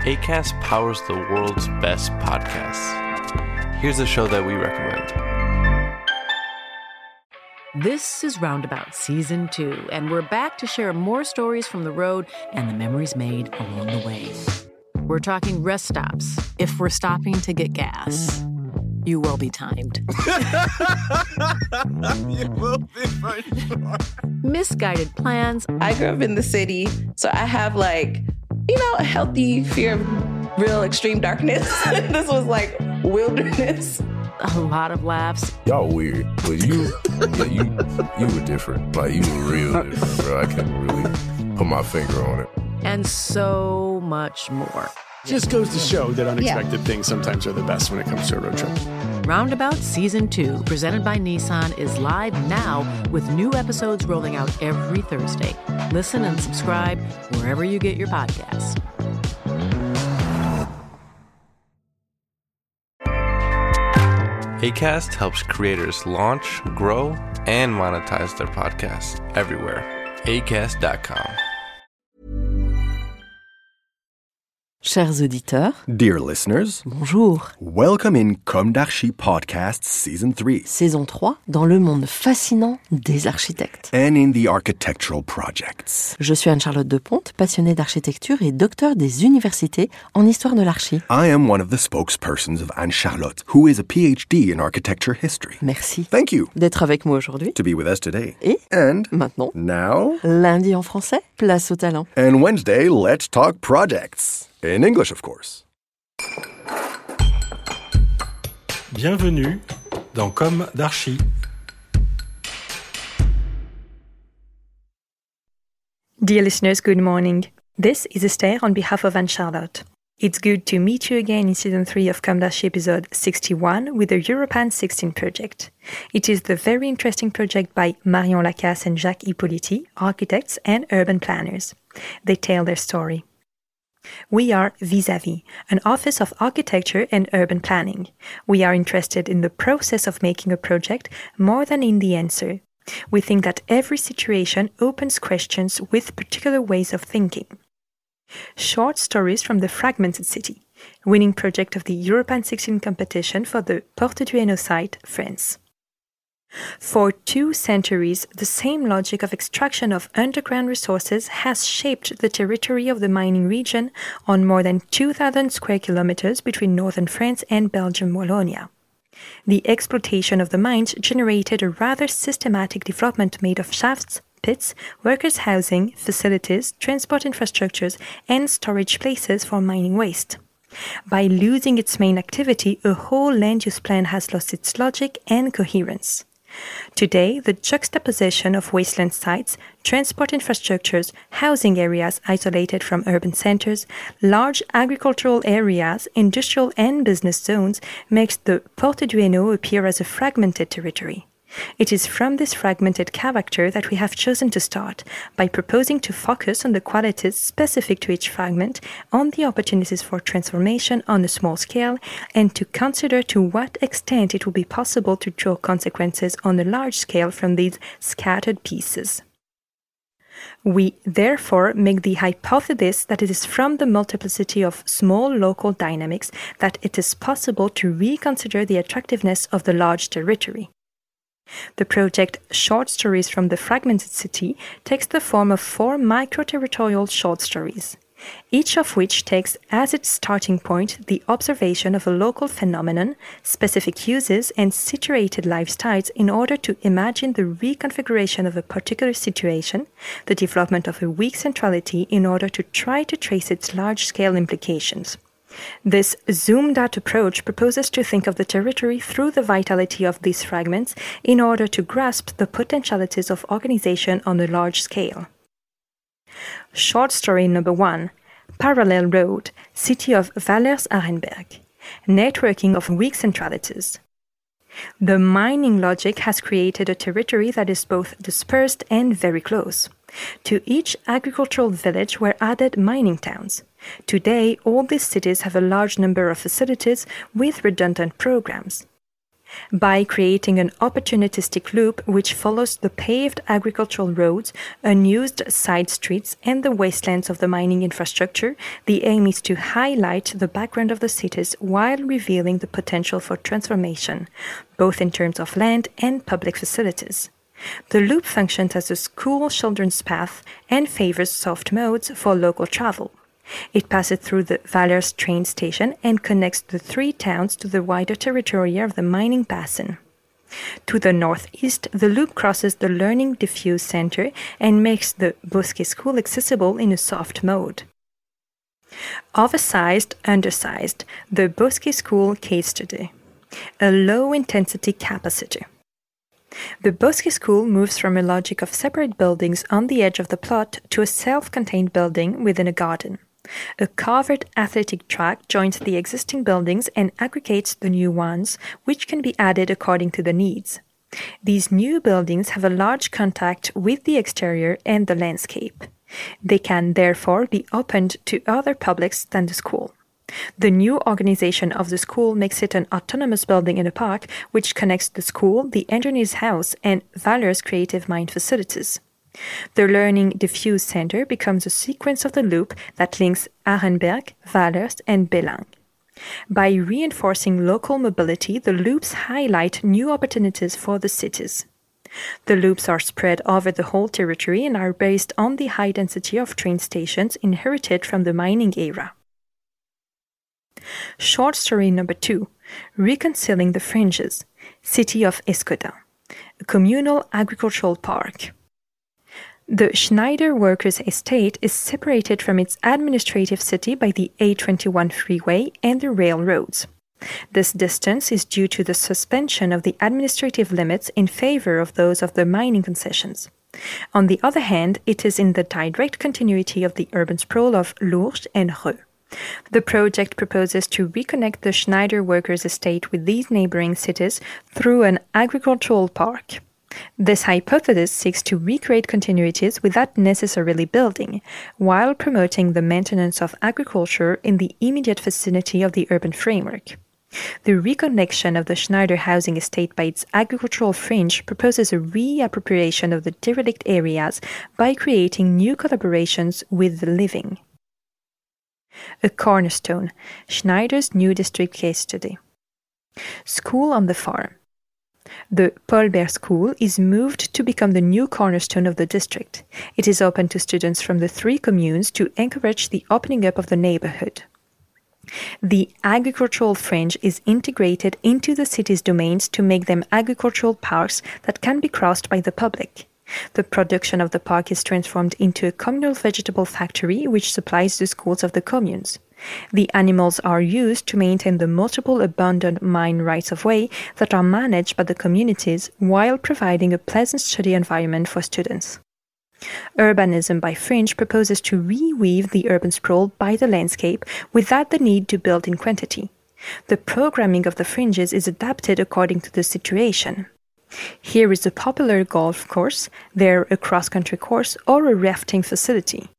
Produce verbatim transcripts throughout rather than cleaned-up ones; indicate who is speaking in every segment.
Speaker 1: Acast powers the world's best podcasts. Here's a show that we recommend.
Speaker 2: This is Roundabout Season two, and we're back to share more stories from the road and the memories made along the way. We're talking rest stops. If we're stopping to get gas, you will be timed.
Speaker 3: You will be for sure.
Speaker 2: Misguided plans.
Speaker 4: I grew up in the city, so I have like, you know, a healthy fear of real extreme darkness. This was like wilderness.
Speaker 2: A lot of laughs.
Speaker 5: Y'all weird, but you, yeah, you, you were different. Like you were real different, bro. I can't really put my finger on it.
Speaker 2: And so much more.
Speaker 3: Just goes to show that unexpected yeah. things sometimes are the best when it comes to a road trip.
Speaker 2: Roundabout Season two, presented by Nissan, is live now with new episodes rolling out every Thursday. Listen and subscribe wherever you get your podcasts.
Speaker 1: Acast helps creators launch, grow, and monetize their podcasts everywhere. acast dot com.
Speaker 6: Chers auditeurs,
Speaker 7: dear listeners,
Speaker 6: bonjour.
Speaker 7: Welcome in Comme d'Archi Podcast Season three.
Speaker 6: Saison trois, dans le monde fascinant des architectes.
Speaker 7: And in the architectural projects.
Speaker 6: Je suis Anne-Charlotte Deponte, passionnée d'architecture et docteur des universités en histoire de l'archi.
Speaker 7: I am one of the spokespersons of Anne-Charlotte, who is a P H D in architecture history.
Speaker 6: Merci.
Speaker 7: Thank you.
Speaker 6: D'être avec moi aujourd'hui.
Speaker 7: To be with us today.
Speaker 6: Et
Speaker 7: and
Speaker 6: maintenant.
Speaker 7: Now.
Speaker 6: Lundi en français, place au talent.
Speaker 7: And Wednesday, let's talk projects. In English, of course.
Speaker 8: Bienvenue dans Comme d'Archi.
Speaker 9: Dear listeners, good morning. This is Esther on behalf of Anne-Charlotte. It's good to meet you again in Season three of Comme d'Archi episode sixty-one with the Europan sixteen project. It is the very interesting project by Marion Lacasse and Jacques Hippolyti, architects and urban planners. They tell their story. We are Vis-à-Vis, an office of architecture and urban planning. We are interested in the process of making a project more than in the answer. We think that every situation opens questions with particular ways of thinking. Short stories from the Fragmented City, winning project of the Europan sixteen competition for the Porte du Hainaut site, France. For two centuries, the same logic of extraction of underground resources has shaped the territory of the mining region on more than two thousand square kilometers between northern France and Belgium Wallonia. The exploitation of the mines generated a rather systematic development made of shafts, pits, workers' housing, facilities, transport infrastructures, and storage places for mining waste. By losing its main activity, a whole land use plan has lost its logic and coherence. Today, the juxtaposition of wasteland sites, transport infrastructures, housing areas isolated from urban centers, large agricultural areas, industrial and business zones makes the Porte du Hainaut appear as a fragmented territory. It is from this fragmented character that we have chosen to start, by proposing to focus on the qualities specific to each fragment, on the opportunities for transformation on a small scale, and to consider to what extent it will be possible to draw consequences on a large scale from these scattered pieces. We, therefore, make the hypothesis that it is from the multiplicity of small local dynamics that it is possible to reconsider the attractiveness of the large territory. The project Short Stories from the Fragmented City takes the form of four micro-territorial short stories, each of which takes as its starting point the observation of a local phenomenon, specific uses, and situated lifestyles in order to imagine the reconfiguration of a particular situation, the development of a weak centrality in order to try to trace its large-scale implications. This zoomed-out approach proposes to think of the territory through the vitality of these fragments in order to grasp the potentialities of organization on a large scale. Short story number one, Parallel Road, City of Vallers-Arenberg, Networking of Weak Centralities. The mining logic has created a territory that is both dispersed and very close. To each agricultural village were added mining towns. Today, all these cities have a large number of facilities with redundant programs. by creating an opportunistic loop which follows the paved agricultural roads, unused side streets, and the wastelands of the mining infrastructure. The aim is to highlight the background of the cities while revealing the potential for transformation, both in terms of land and public facilities. The loop functions as a school children's path and favors soft modes for local travel. It passes through the Vallers train station and connects the three towns to the wider territory of the mining basin. To the northeast, the loop crosses the Learning Diffuse Center and makes the Bosquet School accessible in a soft mode. Oversized, undersized, the Bosquet School case study. A low-intensity capacity. The Bosquet School moves from a logic of separate buildings on the edge of the plot to a self-contained building within a garden. A covered athletic track joins the existing buildings and aggregates the new ones, which can be added according to the needs. These new buildings have a large contact with the exterior and the landscape. They can therefore be opened to other publics than the school. The new organization of the school makes it an autonomous building in a park which connects the school, the engineer's house, and Vallers Creative Mind facilities. The Learning Diffuse Center becomes a sequence of the loop that links Arenberg, Vallers, and Bellang. By reinforcing local mobility, the loops highlight new opportunities for the cities. The loops are spread over the whole territory and are based on the high density of train stations inherited from the mining era. Short story number two, Reconciling the Fringes, City of Escodin, a communal agricultural park. The Schneider Workers' Estate is separated from its administrative city by the A twenty-one freeway and the railroads. This distance is due to the suspension of the administrative limits in favor of those of the mining concessions. On the other hand, it is in the direct continuity of the urban sprawl of Lourdes and Reux. The project proposes to reconnect the Schneider Workers' Estate with these neighboring cities through an agricultural park. This hypothesis seeks to recreate continuities without necessarily building, while promoting the maintenance of agriculture in the immediate vicinity of the urban framework. The reconnection of the Schneider housing estate by its agricultural fringe proposes a reappropriation of the derelict areas by creating new collaborations with the living. A cornerstone, Schneider's new district case study. School on the farm. The Paul Bert School is moved to become the new cornerstone of the district. It is open to students from the three communes to encourage the opening up of the neighborhood. The agricultural fringe is integrated into the city's domains to make them agricultural parks that can be crossed by the public. The production of the park is transformed into a communal vegetable factory which supplies the schools of the communes. The animals are used to maintain the multiple abandoned mine rights-of-way that are managed by the communities while providing a pleasant study environment for students. Urbanism by Fringe proposes to reweave the urban sprawl by the landscape without the need to build in quantity. The programming of the fringes is adapted according to the situation. Here is a popular golf course, there a cross-country course, or a rafting facility.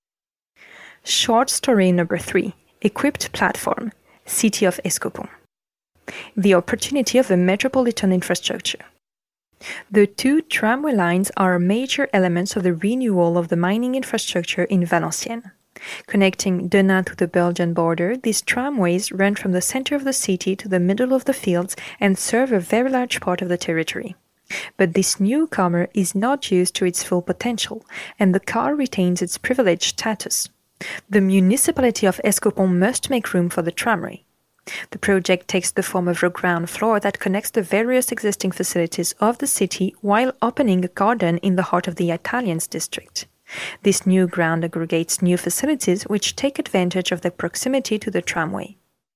Speaker 9: Short story number three, Equipped Platform, City of Escopon. The opportunity of a metropolitan infrastructure. The two tramway lines are major elements of the renewal of the mining infrastructure in Valenciennes. Connecting Denain to the Belgian border, these tramways run from the center of the city to the middle of the fields and serve a very large part of the territory. But this newcomer is not used to its full potential, and the car retains its privileged status. The municipality of Escopon must make room for the tramway. The project takes the form of a ground floor that connects the various existing facilities of the city while opening a garden in the heart of the Italians district. This new ground aggregates new facilities which take advantage of the proximity to the tramway.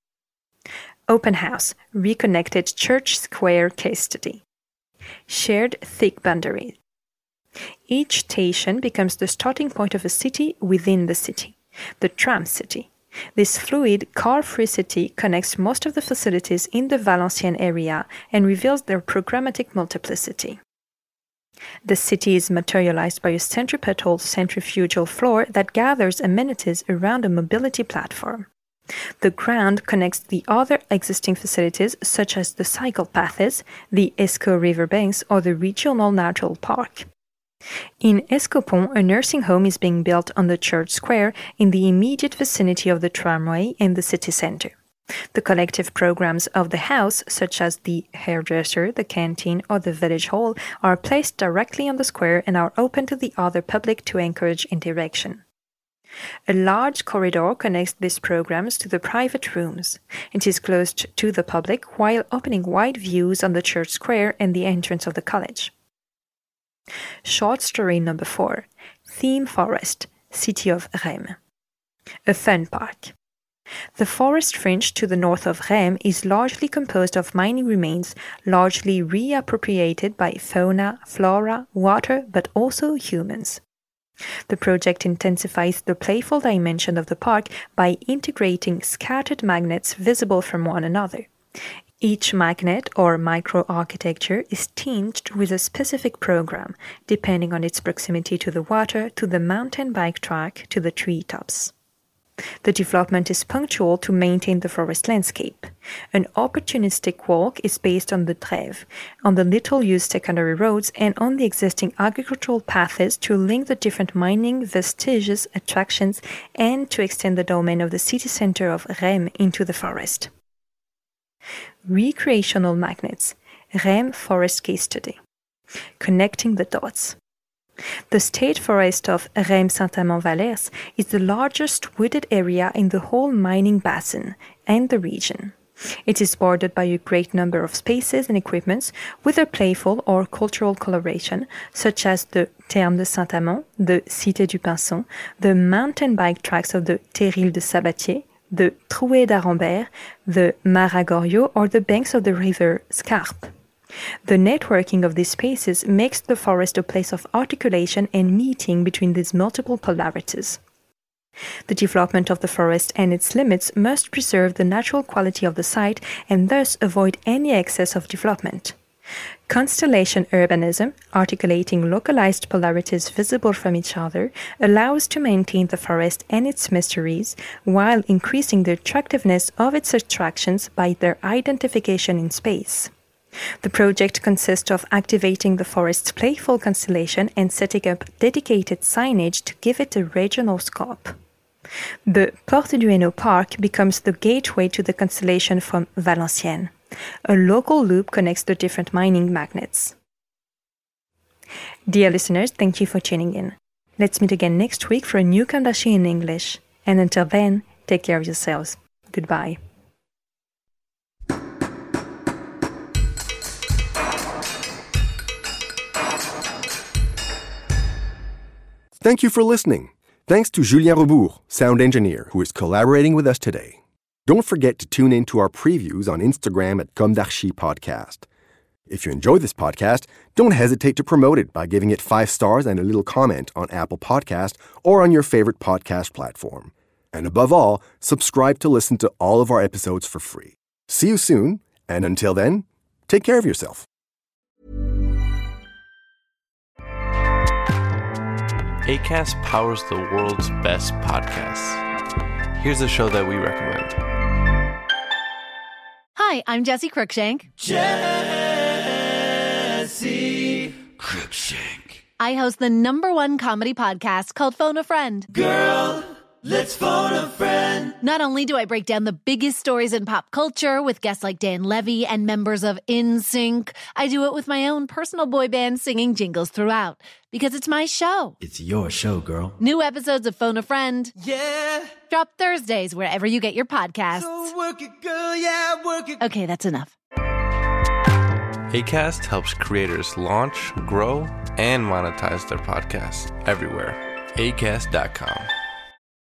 Speaker 9: Open House, Reconnected Church Square Case Study. Shared thick boundaries. Each station becomes the starting point of a city within the city, the tram city. This fluid, car-free city connects most of the facilities in the Valenciennes area and reveals their programmatic multiplicity. The city is materialized by a centripetal centrifugal floor that gathers amenities around a mobility platform. The ground connects the other existing facilities such as the cycle paths, the Escaut riverbanks, or the regional natural park. In Escaupont, a nursing home is being built on the church square in the immediate vicinity of the tramway and the city center. The collective programs of the house, such as the hairdresser, the canteen, or the village hall, are placed directly on the square and are open to the other public to encourage interaction. A large corridor connects these programs to the private rooms. It is closed to the public while opening wide views on the church square and the entrance of the college. Short story number four. Theme Forest, City of Reims. A fun park. The forest fringe to the north of Reims is largely composed of mining remains, largely reappropriated by fauna, flora, water, but also humans. The project intensifies the playful dimension of the park by integrating scattered magnets visible from one another. Each magnet or microarchitecture is tinged with a specific program, depending on its proximity to the water, to the mountain bike track, to the treetops. The development is punctual to maintain the forest landscape. An opportunistic walk is based on the Trèves, on the little-used secondary roads, and on the existing agricultural paths to link the different mining vestiges, attractions, and to extend the domain of the city center of Reims into the forest. Recreational magnets. Reims Forest Case Study. Connecting the dots. The state forest of Reims-Saint-Amand-Vallers is the largest wooded area in the whole mining basin and the region. It is bordered by a great number of spaces and equipments with a playful or cultural coloration, such as the Thermes de Saint-Amand, the Cité du Pinson, the mountain bike tracks of the Terrils de Sabatier, the Trouée d'Arambert, the Maragorio, or the banks of the river Scarpe. The networking of these spaces makes the forest a place of articulation and meeting between these multiple polarities. The development of the forest and its limits must preserve the natural quality of the site and thus avoid any excess of development. Constellation urbanism, articulating localized polarities visible from each other, allows to maintain the forest and its mysteries while increasing the attractiveness of its attractions by their identification in space. The project consists of activating the forest's playful constellation and setting up dedicated signage to give it a regional scope. The Porte du Hainaut Park becomes the gateway to the constellation from Valenciennes. A local loop connects the different mining magnets. Dear listeners, thank you for tuning in. Let's meet again next week for a new Comme d'Archi in English. And until then, take care of yourselves. Goodbye.
Speaker 7: Thank you for listening. Thanks to Julien Rebourg, sound engineer, who is collaborating with us today. Don't forget to tune in to our previews on Instagram at Comme d'Archi Podcast. If you enjoy this podcast, don't hesitate to promote it by giving it five stars and a little comment on Apple Podcast or on your favorite podcast platform. And above all, subscribe to listen to all of our episodes for free. See you soon, and until then, take care of yourself.
Speaker 1: Acast powers the world's best podcasts. Here's a show that we recommend.
Speaker 10: Hi, I'm Jessie Cruikshank.
Speaker 11: Jessie Cruikshank.
Speaker 10: I host the number one comedy podcast called Phone a Friend.
Speaker 11: Girl, let's phone a friend.
Speaker 10: Not only do I break down the biggest stories in pop culture with guests like Dan Levy and members of N Sync, I do it with my own personal boy band singing jingles throughout. Because it's my show.
Speaker 11: It's your show, girl.
Speaker 10: New episodes of Phone a Friend.
Speaker 11: Yeah.
Speaker 10: Drop Thursdays wherever you get your podcasts.
Speaker 11: So work it, girl, yeah, work it.
Speaker 10: Okay, that's enough.
Speaker 1: Acast helps creators launch, grow, and monetize their podcasts everywhere. Acast dot com.